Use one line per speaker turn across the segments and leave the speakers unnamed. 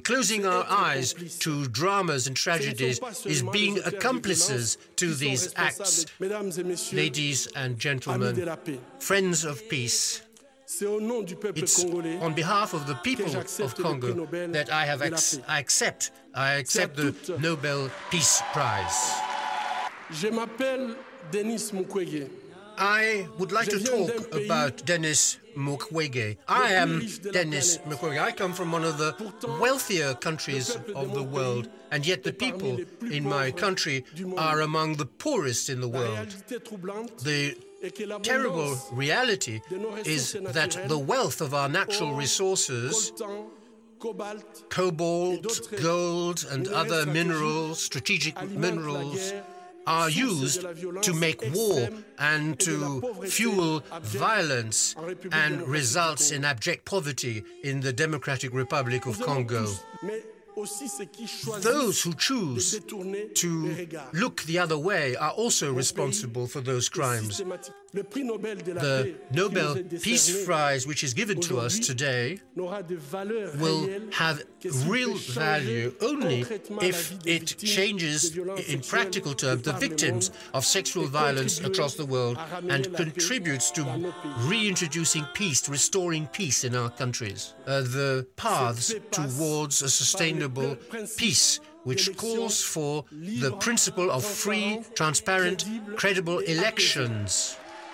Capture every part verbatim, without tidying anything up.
closing our eyes to dramas and tragedies is being accomplices to these acts. Ladies and gentlemen, friends of peace, it's on behalf of the people of Congo that I have ac- I accept I accept the Nobel Peace Prize. I would like to talk about Denis Mukwege. I am Denis Mukwege. I come from one of the wealthier countries of the world, and yet the people in my country are among the poorest in the world. The terrible reality is that the wealth of our natural resources, cobalt, gold, and other minerals, strategic minerals, are used to make war and to fuel violence and results in abject poverty in the Democratic Republic of Congo. Those who choose to look the other way are also responsible for those crimes. The Nobel Peace Prize, which is given to us today, will have real value only if it changes, in practical terms, the victims of sexual violence across the world and contributes to reintroducing peace, restoring peace in our countries. Uh, the paths towards a sustainable peace, which calls for the principle of free, transparent, credible elections.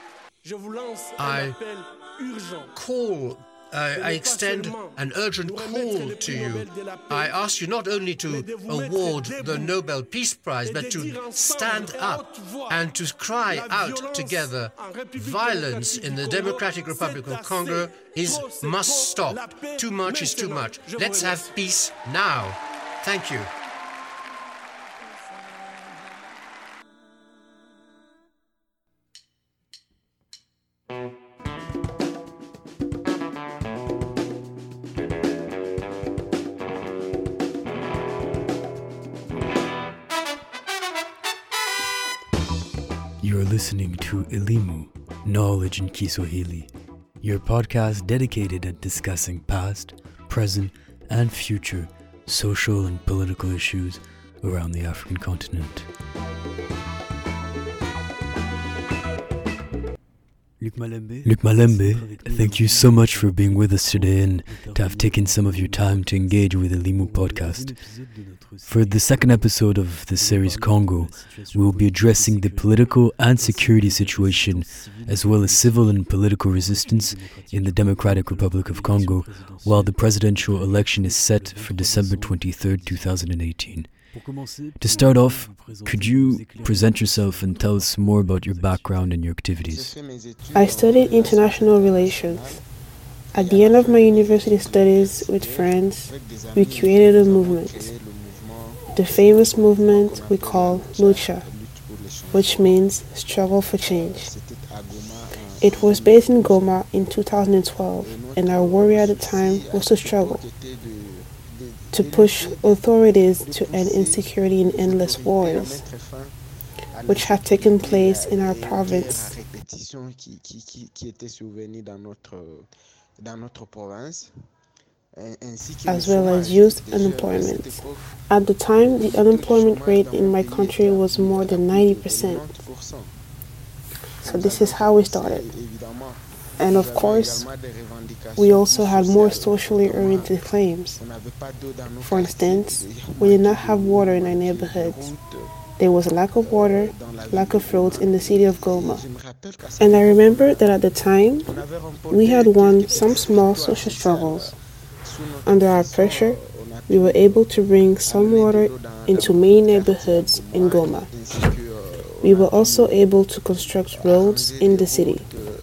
I call, uh, I extend an urgent call to you. I ask you not only to award the Nobel Peace Prize, but to stand up and to cry out together. Violence in the Democratic Republic of Congo is must stop. Too much is too much. Let's have peace now. Thank you.
You're listening to Elimu, Knowledge in Kiswahili, your podcast dedicated at discussing past, present, and future social and political issues around the African continent. Luc Malembe, thank you so much for being with us today and to have taken some of your time to engage with the Elimu podcast. For the second episode of the series Congo, we will be addressing the political and security situation as well as civil and political resistance in the Democratic Republic of Congo while the presidential election is set for December twenty-third, twenty eighteen. To start off, could you present yourself and tell us more about your background and your activities?
I studied international relations. At the end of my university studies with friends, we created a movement. The famous movement we call Lucha, which means struggle for change. It was based in Goma in two thousand twelve, and our worry at the time was to struggle, to push authorities to end insecurity and endless wars, which had taken place in our province. As well as youth unemployment. At the time, the unemployment rate in my country was more than ninety percent. So this is how we started. And of course, we also had more socially oriented claims. For instance, we did not have water in our neighborhoods. There was a lack of water, lack of roads in the city of Goma. And I remember that at the time, we had won some small social struggles. Under our pressure, we were able to bring some water into many neighborhoods in Goma. We were also able to construct roads in the city.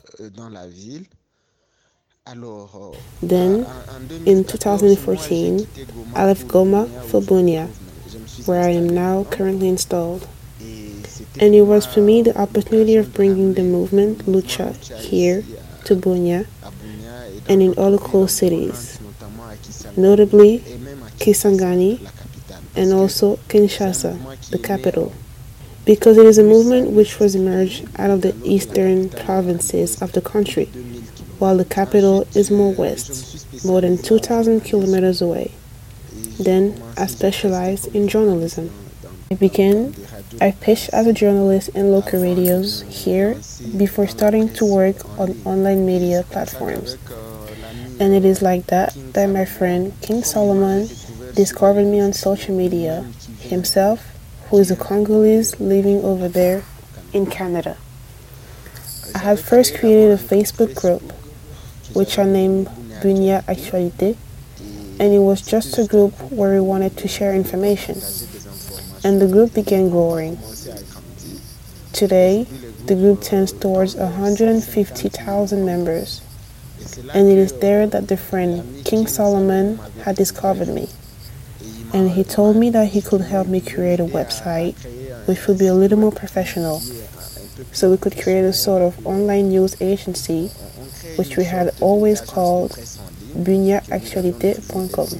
Then, in two thousand fourteen, I left Goma for Bunia, where I am now currently installed. And it was for me the opportunity of bringing the movement Lucha here to Bunia and in other close cities, notably Kisangani and also Kinshasa, the capital, because it is a movement which was emerged out of the eastern provinces of the country, while the capital is more west, more than two thousand kilometers away. Then I specialized in journalism. I began, I pitched as a journalist in local radios here before starting to work on online media platforms. And it is like that that my friend King Solomon discovered me on social media, himself, who is a Congolese living over there in Canada. I had first created a Facebook group, which I named Bunia Actualité, and it was just a group where we wanted to share information. And the group began growing. Today, the group tends towards one hundred fifty thousand members, and it is there that the friend King Solomon had discovered me. And he told me that he could help me create a website which would be a little more professional, so we could create a sort of online news agency which we had always called bunia actualité dot com.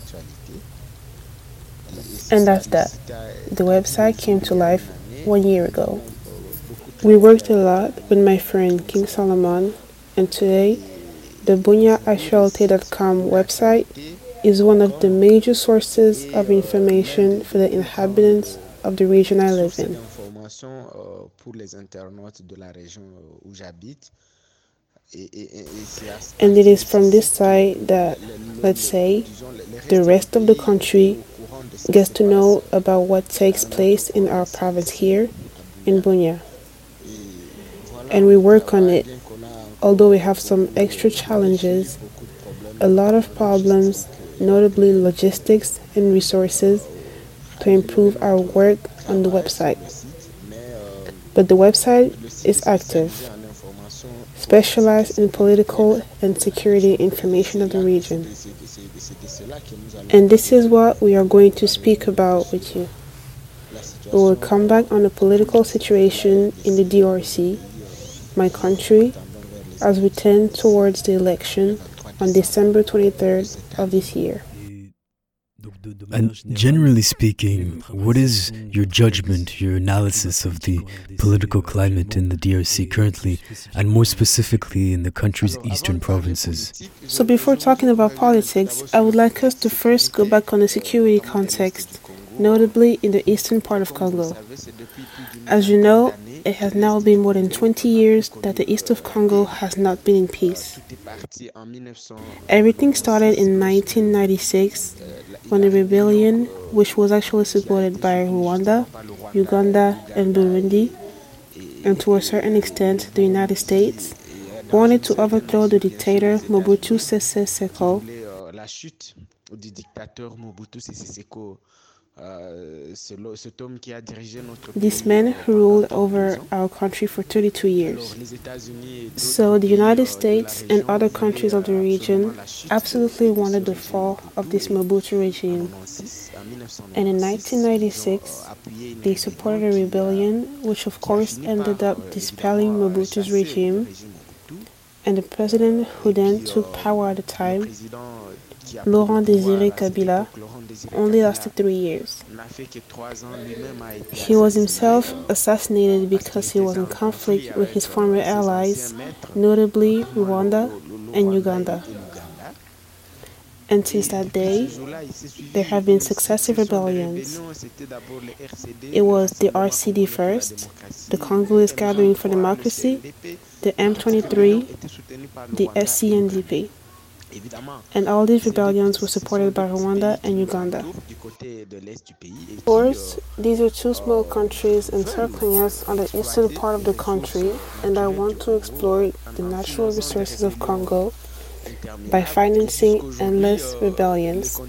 And that's that. The website came to life one year ago. We worked a lot with my friend King Solomon, and today the bunia actualité dot com website is one of the major sources of information for the inhabitants of the region I live in. And it is from this site that, let's say, the rest of the country gets to know about what takes place in our province here in Bunia. And we work on it, although we have some extra challenges, a lot of problems, notably logistics and resources, to improve our work on the website. But the website is active, specialized in political and security information of the region. And this is what we are going to speak about with you. We will come back on the political situation in the D R C, my country, as we tend towards the election on December twenty-third of this year.
And generally speaking, what is your judgment, your analysis of the political climate in the D R C currently, and more specifically in the country's eastern provinces?
So before talking about politics, I would like us to first go back on the security context, notably in the eastern part of Congo. As you know, it has now been more than twenty years that the east of Congo has not been in peace. Everything started in nineteen ninety-six when a rebellion, which was actually supported by Rwanda, Uganda, and Burundi, and to a certain extent the United States, wanted to overthrow the dictator Mobutu Sese Seko. This man who ruled over our country for thirty-two years. So the United States and other countries of the region absolutely wanted the fall of this Mobutu regime. And in nineteen ninety-six, they supported a rebellion which of course ended up dispelling Mobutu's regime. And the president who then took power at the time, Laurent Désiré Kabila, only lasted three years. He was himself assassinated because he was in conflict with his former allies, notably Rwanda and Uganda. And since that day, there have been successive rebellions. It was the R C D first, the Congolese Gathering for Democracy, the M twenty-three, the S C N D P. And all these rebellions were supported by Rwanda and Uganda. Of course, these are two small countries encircling us on the eastern part of the country, and I want to explore the natural resources of Congo by financing endless rebellions.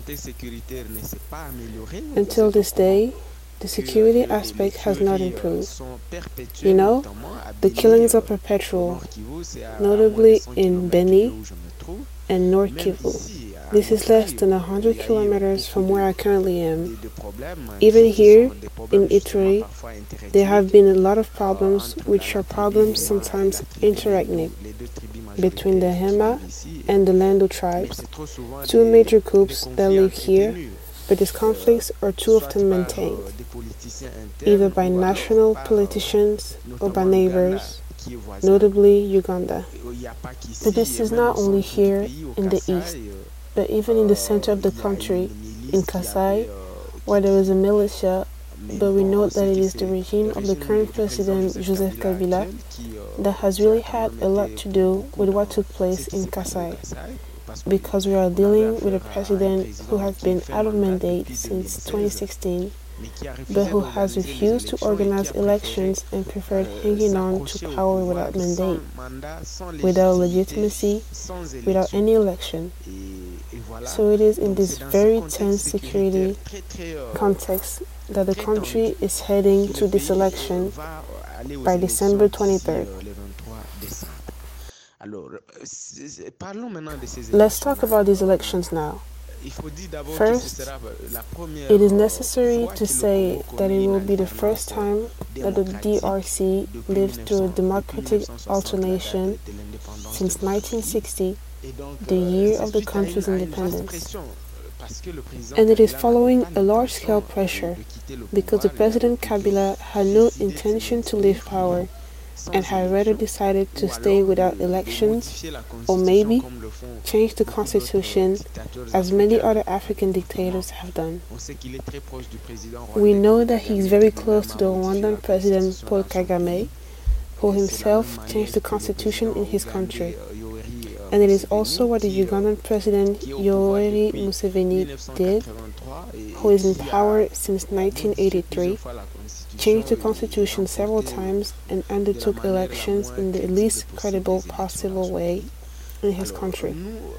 Until this day, the security aspect has not improved. You know, the killings are perpetual, notably in Beni and North Kivu. This is less than one hundred kilometers from where I currently am. Even here, in Ituri, there have been a lot of problems, which are problems sometimes interethnic, between the Hema and the Lando tribes, two major groups that live here, but these conflicts are too often maintained, either by national politicians or by neighbors, notably Uganda. But this is not only here in the east, but even in the center of the country, in Kasai, where there is a militia, but we know that it is the regime of the current president, Joseph Kabila, that has really had a lot to do with what took place in Kasai, because we are dealing with a president who has been out of mandate since twenty sixteen, but who has refused to organize elections and preferred hanging on to power without mandate, without legitimacy, without any election. So it is in this very tense security context that the country is heading to this election by December twenty-third. Let's talk about these elections now. First, it is necessary to say that it will be the first time that the D R C lived through a democratic alternation since nineteen sixty, the year of the country's independence. And it is following a large-scale pressure because the President Kabila had no intention to leave power and had rather decided to stay without elections, or maybe change the constitution as many other African dictators have done. We know that he is very close to the Rwandan President Paul Kagame, who himself changed the constitution in his country. And it is also what the Ugandan President Yoweri Museveni did, who is in power since nineteen eighty-three, changed the constitution several times and undertook elections in the least credible possible way in his country.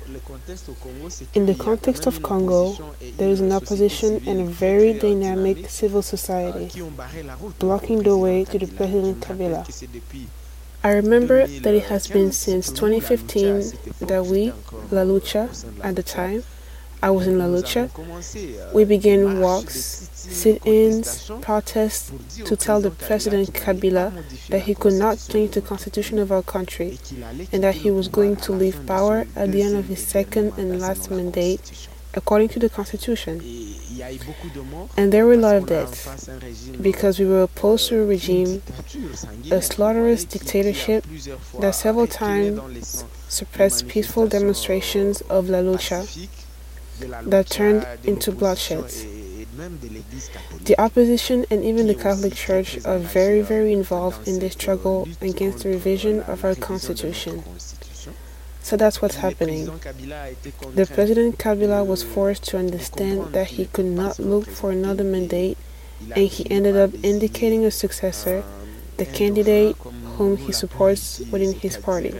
In the context of Congo, there is an opposition and a very dynamic civil society, blocking the way to the President Kabila. I remember that it has been since twenty fifteen that we, La Lucha, at the time, I was in La Lucha, we began walks, sit-ins, protests to tell the President Kabila that he could not change the constitution of our country and that he was going to leave power at the end of his second and last mandate according to the constitution. And there were a lot of deaths because we were opposed to a regime, a slaughterous dictatorship that several times suppressed peaceful demonstrations of La Lucha that turned into bloodshed. The opposition and even the Catholic Church are very, very involved in this struggle against the revision of our constitution. So that's what's happening. The President Kabila was forced to understand that he could not look for another mandate, and he ended up indicating a successor, the candidate whom he supports within his party.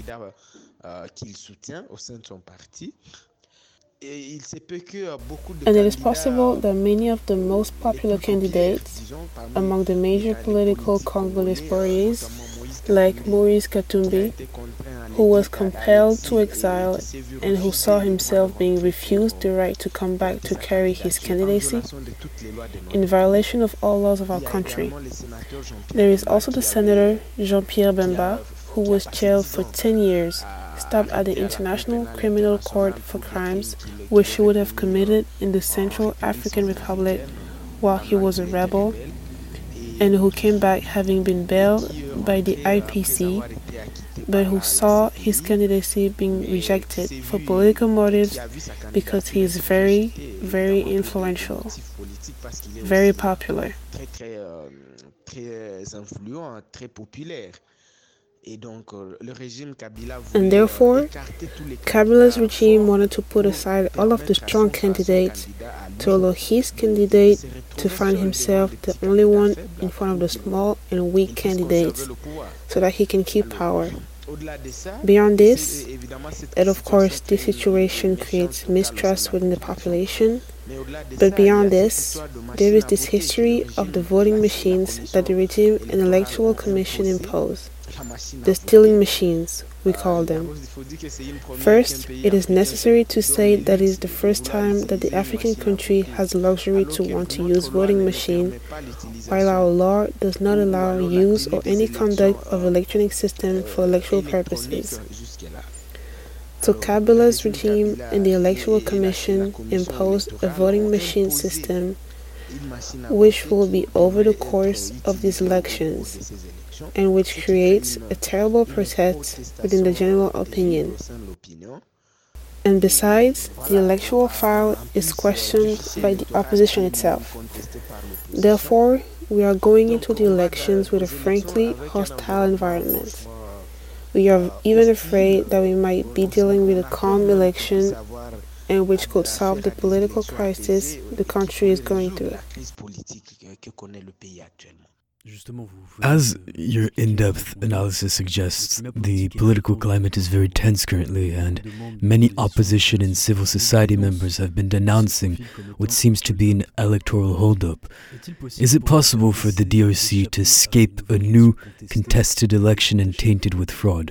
And it is possible that many of the most popular candidates among the major political Congolese parties, like Maurice Katumbi, who was compelled to exile and who saw himself being refused the right to come back to carry his candidacy, in violation of all laws of our country. There is also the Senator Jean-Pierre Bemba, who was jailed for ten years, stopped at the International Criminal Court for crimes which he would have committed in the Central African Republic while he was a rebel, and who came back having been bailed by the I P C, but who saw his candidacy being rejected for political motives because he is very, very influential, very popular. And therefore, Kabila's regime wanted to put aside all of the strong candidates to allow his candidate to find himself the only one in front of the small and weak candidates so that he can keep power. Beyond this, and of course this situation creates mistrust within the population, but beyond this, there is this history of the voting machines that the regime and electoral commission impose. The stealing machines, we call them. First, it is necessary to say that it is the first time that the African country has the luxury to want to use voting machine, while our law does not allow use or any conduct of electronic system for electoral purposes. So Kabila's regime and the Electoral Commission imposed a voting machine system which will be over the course of these elections, and which creates a terrible protest within the general opinion. And besides, the electoral file is questioned by the opposition itself. Therefore, we are going into the elections with a frankly hostile environment. We are even afraid that we might be dealing with a calm election and which could solve the political crisis the country is going through.
As your in-depth analysis suggests, the political climate is very tense currently, and many opposition and civil society members have been denouncing what seems to be an electoral holdup. Is it possible for the D R C to escape a new contested election and tainted with fraud?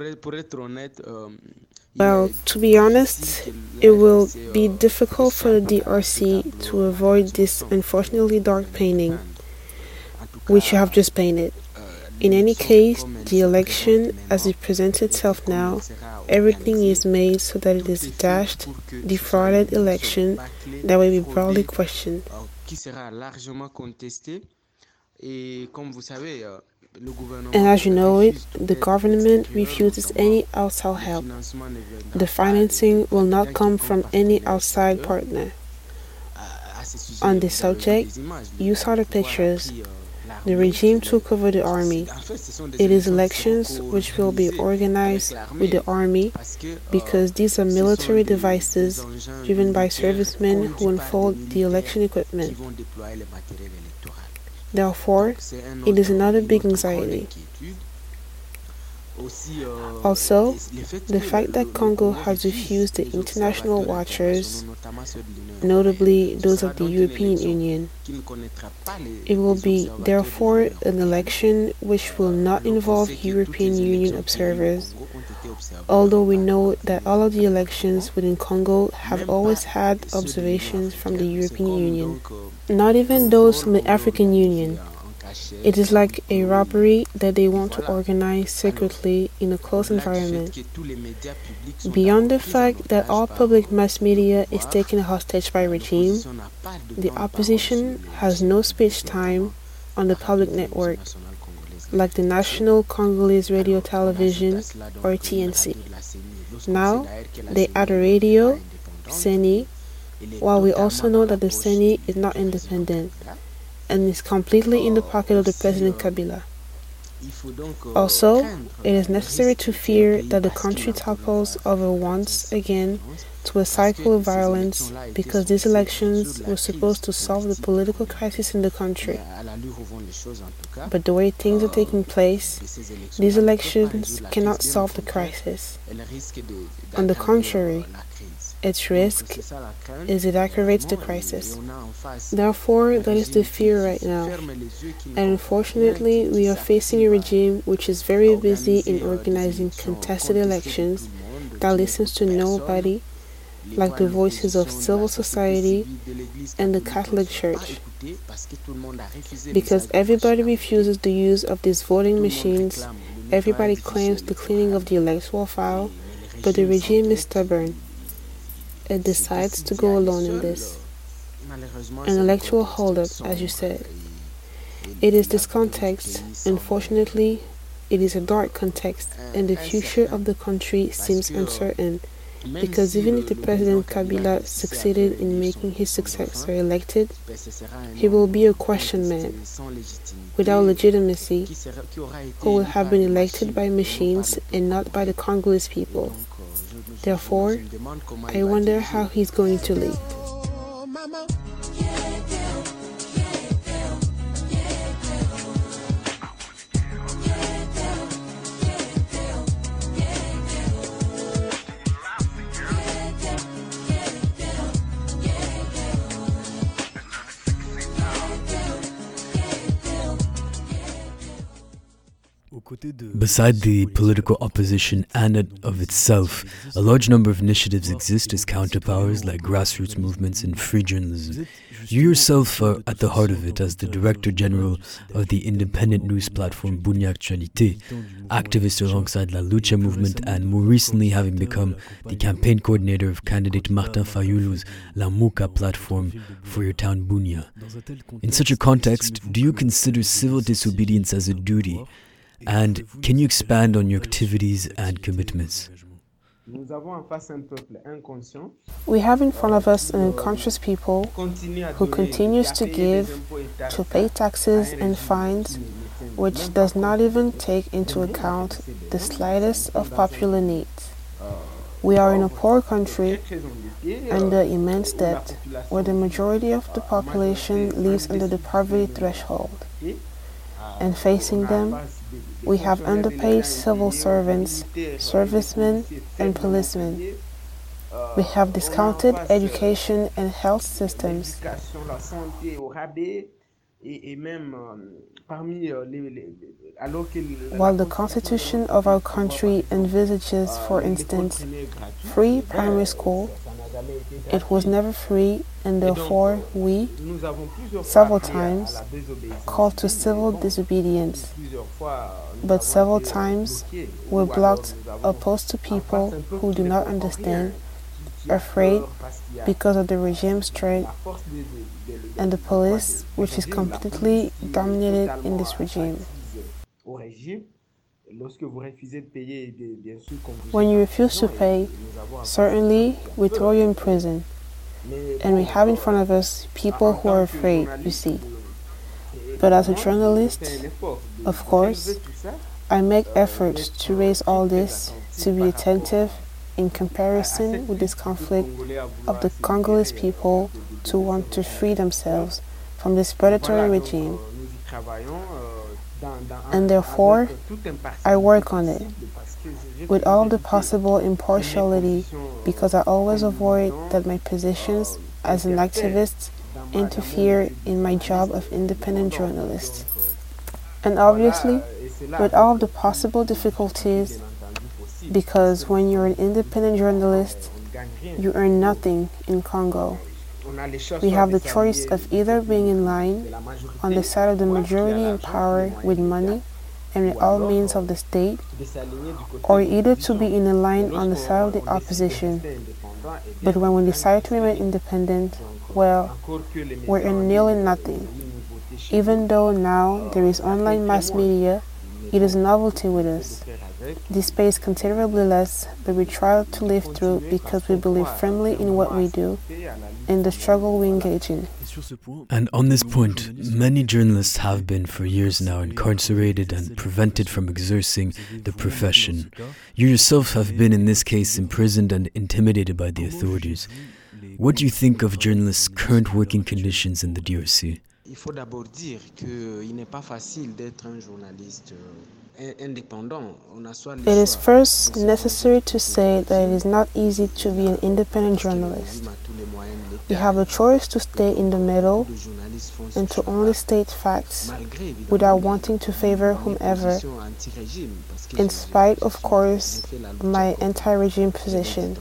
Well, to be honest, it will be difficult for the D R C to avoid this unfortunately dark painting, which you have just painted. In any case, the election, as it presents itself now, everything is made so that it is a dashed, defrauded election that will be broadly questioned. And as you know it, the government refuses any outside help. The financing will not come from any outside partner. On this subject, you saw the pictures. The regime took over the army. It is elections which will be organized with the army because these are military devices driven by servicemen who unfold the election equipment. Therefore, it is another big anxiety. Also, the fact that Congo has refused the international watchers, notably those of the European Union. It will be, therefore, an election which will not involve European Union observers, although we know that all of the elections within Congo have always had observations from the European Union, not even those from the African Union. It is like a robbery that they want to organize secretly in a closed environment. Beyond the fact that all public mass media is taken hostage by regime, the opposition has no speech time on the public network, like the National Congolese Radio Television or T N C. Now, they add a radio, Seni, while we also know that the Seni is not independent and is completely in the pocket of the President Kabila. Also, it is necessary to fear that the country topples over once again to a cycle of violence because these elections were supposed to solve the political crisis in the country. But the way things are taking place, these elections cannot solve the crisis. On the contrary, its risk is it aggravates the crisis. Therefore, that is the fear right now. And unfortunately, we are facing a regime which is very busy in organizing contested elections that listens to nobody, like the voices of civil society and the Catholic Church. Because everybody refuses the use of these voting machines, everybody claims the cleaning of the electoral file, but the regime is stubborn. It decides to go alone in this. An electoral holdup, as you said. It is this context, unfortunately, it is a dark context, and the future of the country seems uncertain, because even if the President Kabila succeeded in making his successor elected, he will be a question man, without legitimacy, who will have been elected by machines and not by the Congolese people. Therefore, I wonder how he's going to lead.
Beside the political opposition and of itself, a large number of initiatives exist as counterpowers like grassroots movements and free journalism. You yourself are at the heart of it as the Director General of the independent news platform Bunia Actualité, activist alongside La Lucha movement, and more recently having become the campaign coordinator of candidate Martin Fayulu's Lamuka platform for your town Bunia. In such a context, do you consider civil disobedience as a duty? And can you expand on your activities and commitments?
We have in front of us an unconscious people who continues to give, to pay taxes and fines, which does not even take into account the slightest of popular needs. We are in a poor country under immense debt, where the majority of the population lives under the poverty threshold. And facing them, we have underpaid civil servants, servicemen, and policemen. We have discounted education and health systems. While the constitution of our country envisages, for instance, free primary school, it was never free, and therefore we, several times, called to civil disobedience, but several times were blocked, opposed to people who do not understand, afraid because of the regime's strength, and the police, which is completely dominated in this regime. When you refuse to pay, certainly we throw you in prison. And we have in front of us people who are afraid, you see. But as a journalist, of course, I make efforts to raise all this, to be attentive in comparison with this conflict of the Congolese people to want to free themselves from this predatory regime. And therefore, I work on it with all the possible impartiality, because I always avoid that my positions as an activist interfere in my job of independent journalist. And obviously, with all of the possible difficulties, because when you're an independent journalist, you earn nothing in Congo. We have the choice of either being in line on the side of the majority in power with money and with all means of the state, or either to be in a line on the side of the opposition. But when we decide to remain independent, well, we're in nil and nothing. Even though now there is online mass media, it is a novelty with us. This pays considerably less, but we try to live through because we believe firmly in what we do and the struggle we engage in.
And on this point, many journalists have been for years now incarcerated and prevented from exercising the profession. You yourself have been in this case imprisoned and intimidated by the authorities. What do you think of journalists' current working conditions in the D R C?
Il faut d'abord dire qu'il n'est pas facile d'être un journaliste indépendant.
It is first necessary to say that it is not easy to be an independent journalist. You have the choice to stay in the middle and to only state facts without wanting to favor whomever, in spite, of course, of my anti-regime position.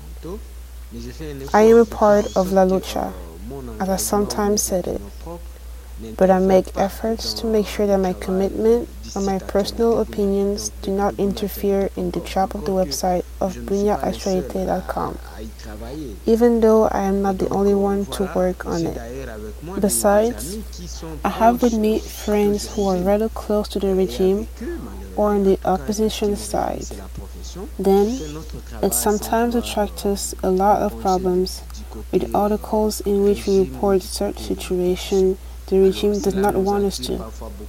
I am a part of La Lucha, as I sometimes said it. But I make efforts to make sure that my commitment or my personal opinions do not interfere in the job of the website of bunya actualité dot com, even though I am not the only one to work on it. Besides, I have with me friends who are rather close to the regime or on the opposition side. Then, it sometimes attracts us a lot of problems with articles in which we report certain situations the regime does not want us to.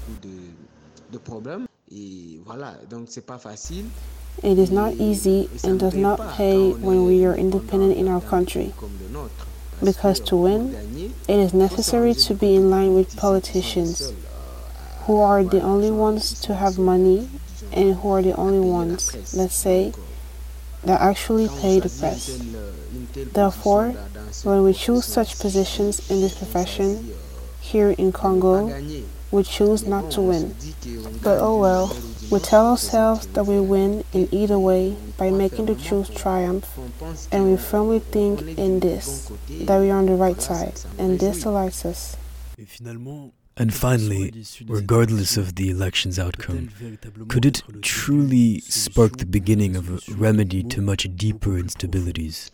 It is not easy and does not pay when we are independent in our country. Because to win, it is necessary to be in line with politicians, who are the only ones to have money and who are the only ones, let's say, that actually pay the press. Therefore, when we choose such positions in this profession, here in Congo, we choose not to win. But oh well, we tell ourselves that we win in either way by making the truth triumph, and we firmly think in this, that we are on the right side, and this delights us.
And finally, regardless of the election's outcome, could it truly spark the beginning of a remedy to much deeper instabilities?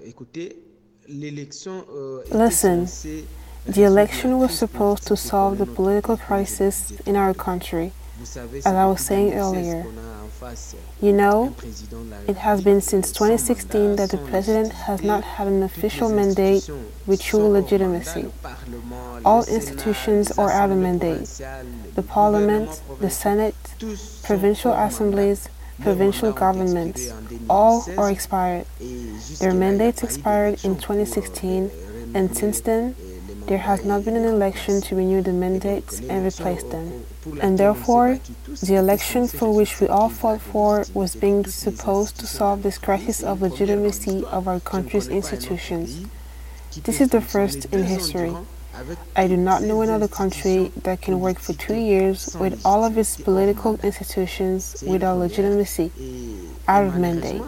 Listen, the election was supposed to solve the political crisis in our country, as I was saying earlier. You know, it has been since twenty sixteen that the president has not had an official mandate with true legitimacy. All institutions are out of mandate. The parliament, the senate, provincial assemblies, provincial governments, all are expired. Their mandates expired in twenty sixteen, and since then, there has not been an election to renew the mandates and replace them. And therefore, the election for which we all fought for was being supposed to solve this crisis of legitimacy of our country's institutions. This is the first in history. I do not know another country that can work for two years with all of its political institutions without legitimacy, out of mandate.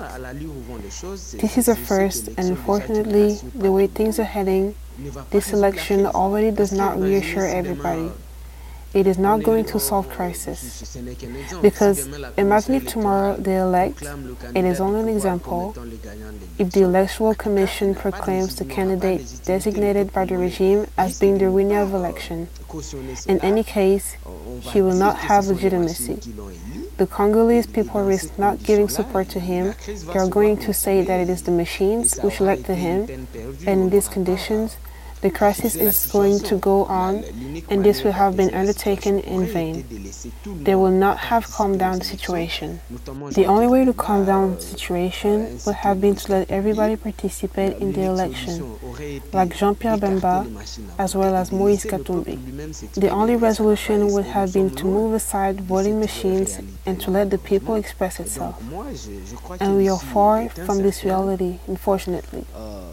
This is a first, and unfortunately, the way things are heading, this election already does not reassure everybody. It is not going to solve crisis. Because imagine if tomorrow they elect, it is only an example, if the Electoral Commission proclaims the candidate designated by the regime as being the winner of election. In any case, he will not have legitimacy. The Congolese people risk not giving support to him. They are going to say that it is the machines which elected him, and in these conditions, the crisis is going to go on, and this will have been undertaken in vain. They will not have calmed down the situation. The only way to calm down the situation would have been to let everybody participate in the election, like Jean-Pierre Bemba, as well as Moïse Katumbi. The only resolution would have been to move aside voting machines and to let the people express itself. And we are far from this reality, unfortunately.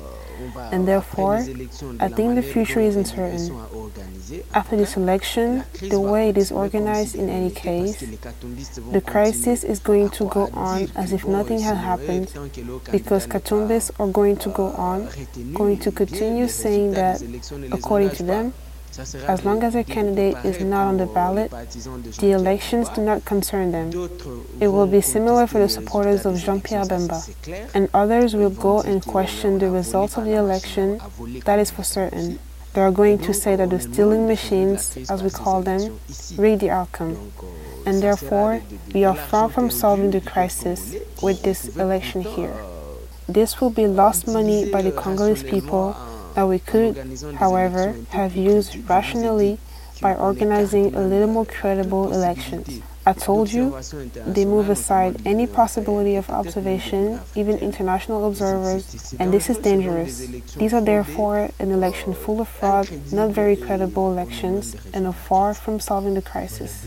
And therefore, I think the future is uncertain. After this election, the way it is organized in any case, the crisis is going to go on as if nothing had happened, because Katumbis are going to go on, going to continue saying that, according to them, as long as a candidate is not on the ballot, the elections do not concern them. It will be similar for the supporters of Jean-Pierre Bemba. And others will go and question the results of the election, that is for certain. They are going to say that the stealing machines, as we call them, rigged the outcome. And therefore, we are far from solving the crisis with this election here. This will be lost money by the Congolese people that we could, however, have used rationally by organizing a little more credible elections. I told you, they move aside any possibility of observation, even international observers, and this is dangerous. These are therefore an election full of fraud, not very credible elections, and are far from solving the crisis.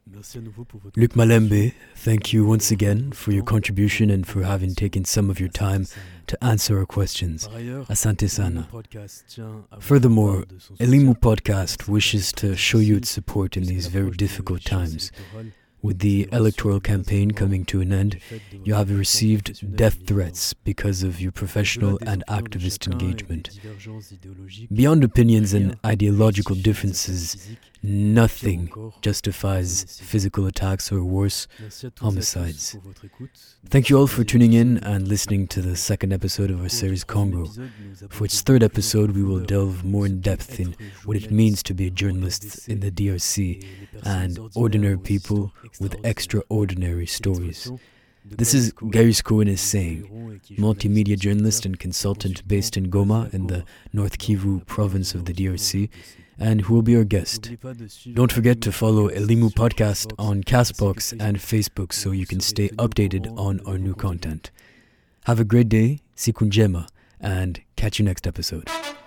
Luc Malembe, thank you once again for your contribution and for having taken some of your time to answer our questions. Asante sana. Furthermore, Elimu Podcast wishes to show you its support in these very difficult times. With the electoral campaign coming to an end, you have received death threats because of your professional and activist engagement. Beyond opinions and ideological differences, nothing justifies physical attacks or worse, homicides. Thank you all for tuning in and listening to the second episode of our series Congo. For its third episode, we will delve more in depth in what it means to be a journalist in the D R C and ordinary people with extraordinary stories. This is Gary Cohen saying, multimedia journalist and consultant based in Goma in the North Kivu province of the D R C, and who will be our guest. Don't forget to follow Elimu Podcast on Castbox and Facebook so you can stay updated on our new content. Have a great day, siku njema, and catch you next episode.